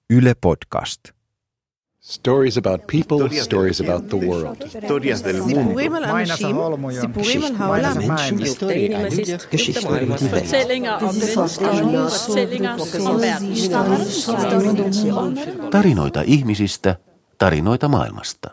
Yle Podcast. Stories about people, stories about the world. Historias del mundo. סיפורים על העולם. Tarinoita ihmisistä, tarinoita maailmasta.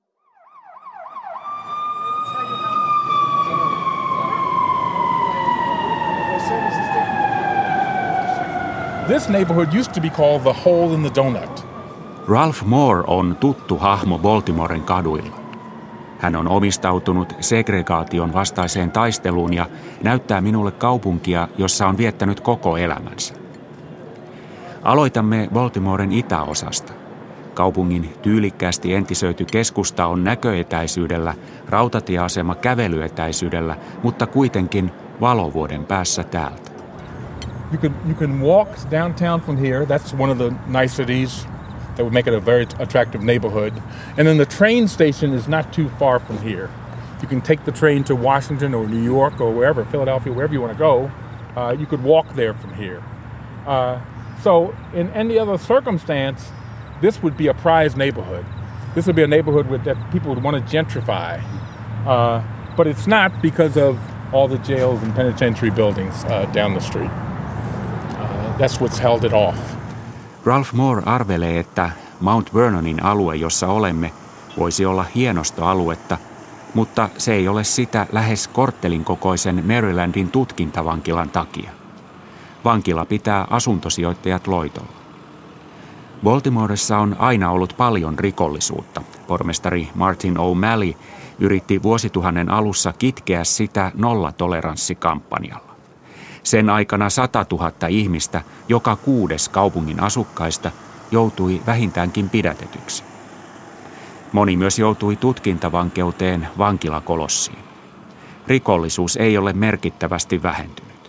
This neighborhood used to be called the Hole in the Donut. Ralph Moore on tuttu hahmo Baltimoren kaduilla. Hän on omistautunut segregaation vastaiseen taisteluun ja näyttää minulle kaupunkia, jossa on viettänyt koko elämänsä. Aloitamme Baltimoren itäosasta. Kaupungin tyylikkäästi entisöity keskusta on näköetäisyydellä, rautatieasema kävelyetäisyydellä, mutta kuitenkin valovuoden päässä täältä. You can walk downtown from here. That's one of the niceties that would make it a very attractive neighborhood. And then the train station is not too far from here. You can take the train to Washington or New York or wherever, Philadelphia, wherever you want to go. You could walk there from here. So in any other circumstance, this would be a prized neighborhood. This would be a neighborhood that people would want to gentrify. But it's not because of all the jails and penitentiary buildings down the street. That's what's held it off. Ralph Moore arvelee, että Mount Vernonin alue, jossa olemme, voisi olla hienostoaluetta, mutta se ei ole sitä lähes korttelin kokoisen Marylandin tutkintavankilan takia. Vankila pitää asuntosijoittajat loitolla. Baltimoressa on aina ollut paljon rikollisuutta. Pormestari Martin O'Malley yritti vuosituhannen alussa kitkeä sitä nollatoleranssikampanjalla. Sen aikana 100 000 ihmistä, joka 6. kaupungin asukkaista, joutui vähintäänkin pidätetyksi. Moni myös joutui tutkintavankeuteen vankilakolossiin. Rikollisuus ei ole merkittävästi vähentynyt.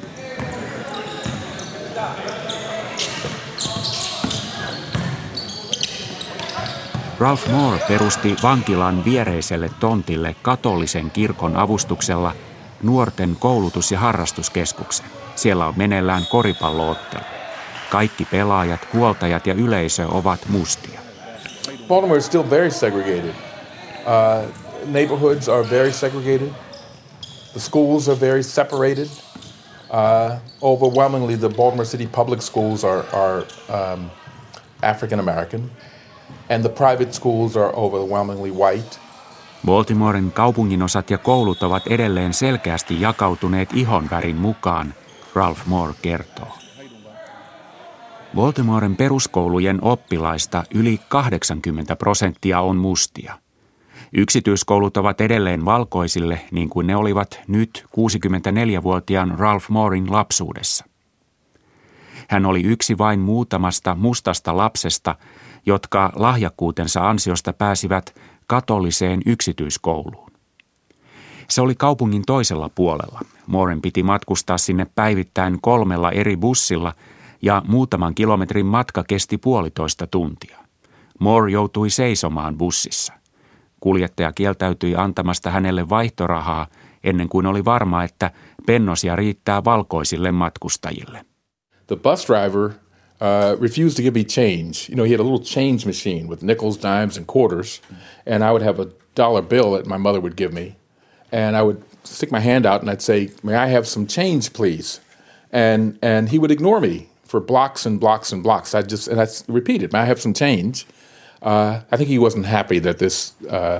Ralph Moore perusti vankilan viereiselle tontille katolisen kirkon avustuksella nuorten koulutus- ja harrastuskeskuksen. Siellä on meneillään koripalloottelu. Kaikki pelaajat, huoltajat ja yleisö ovat mustia. Baltimore is still very segregated. Neighborhoods are very segregated. The schools are very separated. Overwhelmingly, the Baltimore City public schools are African American, and the private schools are overwhelmingly white. Baltimoren kaupunginosat ja koulut ovat edelleen selkeästi jakautuneet ihonvärin mukaan, Ralph Moore kertoo. Baltimoren peruskoulujen oppilaista yli 80% on mustia. Yksityiskoulut ovat edelleen valkoisille, niin kuin ne olivat nyt 64-vuotiaan Ralph Mooren lapsuudessa. Hän oli yksi vain muutamasta mustasta lapsesta, jotka lahjakkuutensa ansiosta pääsivät katoliseen yksityiskouluun. Se oli kaupungin toisella puolella. Mooren piti matkustaa sinne päivittäin 3 eri bussilla ja muutaman kilometrin matka kesti 1,5 tuntia. Moore joutui seisomaan bussissa. Kuljettaja kieltäytyi antamasta hänelle vaihtorahaa ennen kuin oli varma, että pennosia riittää valkoisille matkustajille. The bus driver refused to give me change. You know, he had a little change machine with nickels, dimes, and quarters, and I would have a dollar bill that my mother would give me, and I would stick my hand out and I'd say, "May I have some change, please?" And he would ignore me for blocks and blocks and blocks. I repeated, "May I have some change?" I think he wasn't happy that this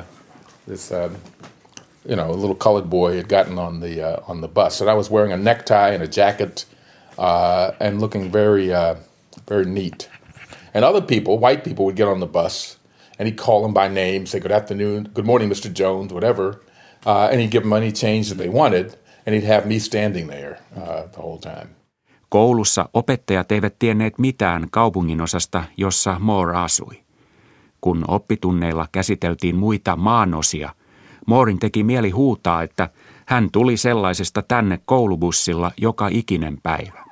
little colored boy had gotten on the bus, and I was wearing a necktie and a jacket and looking very neat. And other people, white people, would get on the bus, and he'd call them by name, say, "Good afternoon, good morning, Mr. Jones," whatever, and he'd give them any change that they wanted, and he'd have me standing there the whole time. Koulussa opettajat eivät tienneet mitään kaupunginosasta, jossa Moore asui. Kun oppitunneilla käsiteltiin muita maanosia, Mooren teki mieli huutaa, että hän tuli sellaisesta tänne koulubussilla joka ikinen päivä.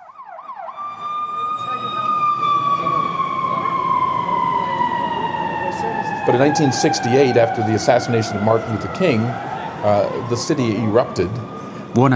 But in 1968, after the assassination of Martin Luther King, the city erupted. Vuonna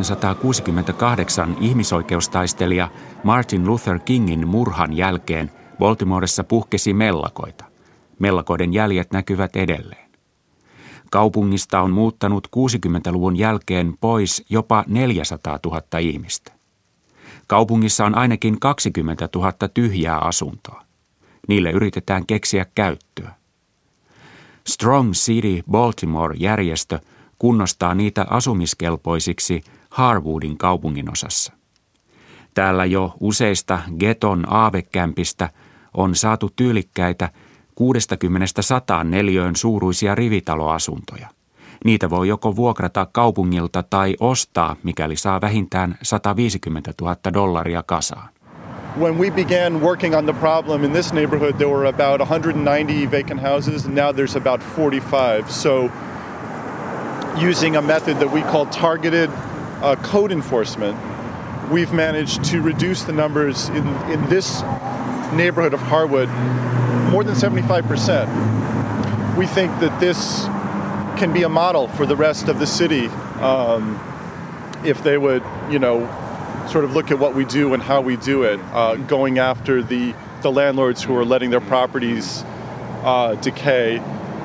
1968 ihmisoikeustaistelija Martin Luther Kingin murhan jälkeen Baltimoressa puhkesi mellakoita. Mellakoiden jäljet näkyvät edelleen. Kaupungista on muuttanut 60-luvun jälkeen pois jopa 400 000 ihmistä. Kaupungissa on ainakin 20 000 tyhjää asuntoa. Niille yritetään keksiä käyttöä. Strong City Baltimore-järjestö kunnostaa niitä asumiskelpoisiksi Harwoodin kaupunginosassa. Täällä jo useista geton aavekämpistä on saatu tyylikkäitä 60–100 neliöön suuruisia rivitaloasuntoja. Niitä voi joko vuokrata kaupungilta tai ostaa, mikäli saa vähintään $150,000 kasaan. When we began working on the problem in this neighborhood, there were about 190 vacant houses, and now there's about 45. So using a method that we call targeted code enforcement, we've managed to reduce the numbers in this neighborhood of Harwood more than 75%. We think that this can be a model for the rest of the city if they would, sort of look at what we do and how we do it, going after the landlords who are letting their properties decay,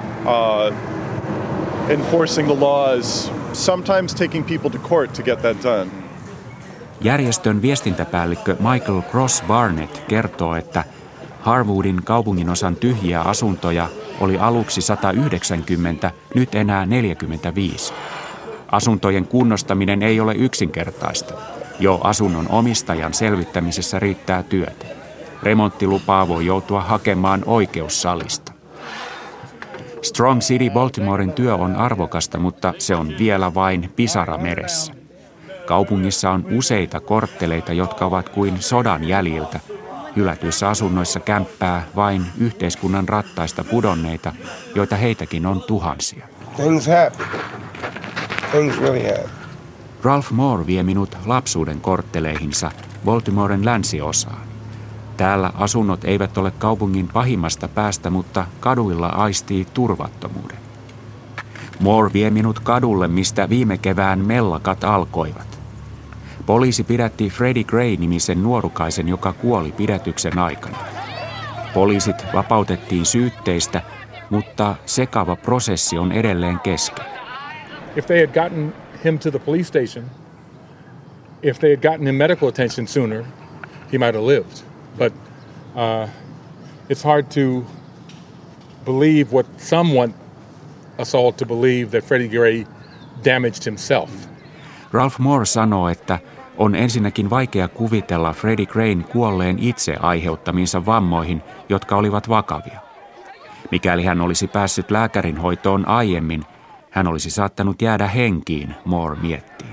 enforcing the laws, sometimes taking people to court to get that done. Järjestön viestintäpäällikkö Michael Cross Barnett kertoo, että Harwoodin kaupunginosan tyhjiä asuntoja oli aluksi 190, nyt enää 45. Asuntojen kunnostaminen ei ole yksinkertaista. Jo asunnon omistajan selvittämisessä riittää työtä. Remonttilupaa voi joutua hakemaan oikeussalista. Strong City Baltimoren työ on arvokasta, mutta se on vielä vain pisara meressä. Kaupungissa on useita kortteleita, jotka ovat kuin sodan jäljiltä. Hylätyissä asunnoissa kämppää vain yhteiskunnan rattaista pudonneita, joita heitäkin on tuhansia. Things happen. Things really happen. Ralph Moore vie minut lapsuuden kortteleihinsa Baltimoren länsiosaan. Täällä asunnot eivät ole kaupungin pahimmasta päästä, mutta kaduilla aistii turvattomuuden. Moore vie minut kadulle, mistä viime kevään mellakat alkoivat. Poliisi pidätti Freddie Gray-nimisen nuorukaisen, joka kuoli pidätyksen aikana. Poliisit vapautettiin syytteistä, mutta sekava prosessi on edelleen kesken. If they had gotten him to the police station, if they had gotten him medical attention sooner, he might have lived. But it's hard to believe what some want us all to believe, that Freddie Gray damaged himself. Ralph Moore sanoo, että on ensinnäkin vaikea kuvitella Freddie Grayn kuolleen itse aiheuttamiinsa vammoihin, jotka olivat vakavia. Mikäli hän olisi päässyt lääkärinhoitoon aiemmin, hän olisi saattanut jäädä henkiin, Moore miettii.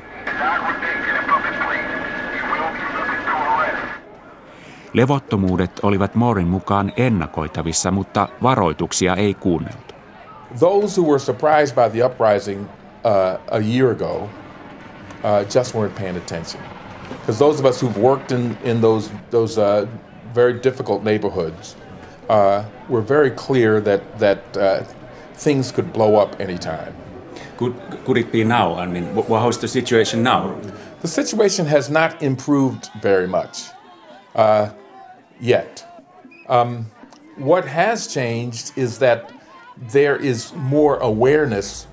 Levottomuudet olivat Mooren mukaan ennakoitavissa, mutta varoituksia ei kuunneltu. Those who were surprised by the uprising a year ago just weren't paying attention. Because those of us who've worked in those very difficult neighborhoods were very clear that things could blow up anytime. Could it be now? I mean, how's the situation now? The situation has not improved very much yet. What has changed is that there is more awareness.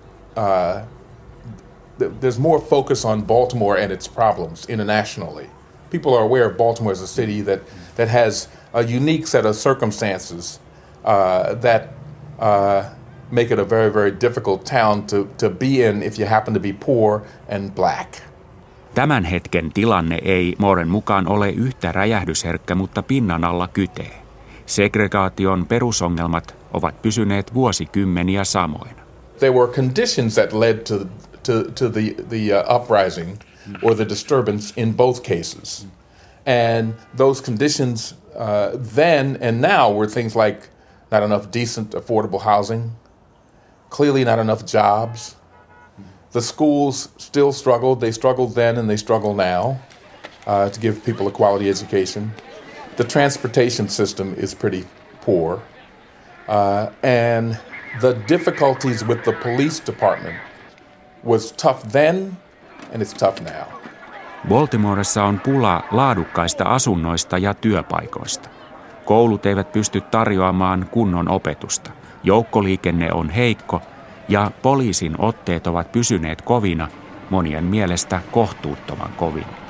There's more focus on Baltimore and its problems internationally. People are aware of Baltimore as a city that has a unique set of circumstances that make it a very, very difficult town to be in if you happen to be poor and black. Tämän hetken tilanne ei Mooren mukaan ole yhtä räjähdysherkkä, mutta pinnan alla kytee. Segregaation perusongelmat ovat pysyneet vuosikymmeniä samoina. There were conditions that led to the uprising or the disturbance in both cases. And those conditions then and now were things like not enough decent, affordable housing, clearly not enough jobs. The schools still struggled. They struggled then and they struggle now to give people a quality education. The transportation system is pretty poor. And the difficulties with the police department was tough then and it's tough now. Baltimoressa on pula laadukkaista asunnoista ja työpaikoista. Koulut eivät pysty tarjoamaan kunnon opetusta. Joukkoliikenne on heikko ja poliisin otteet ovat pysyneet kovina, monien mielestä kohtuuttoman kovina.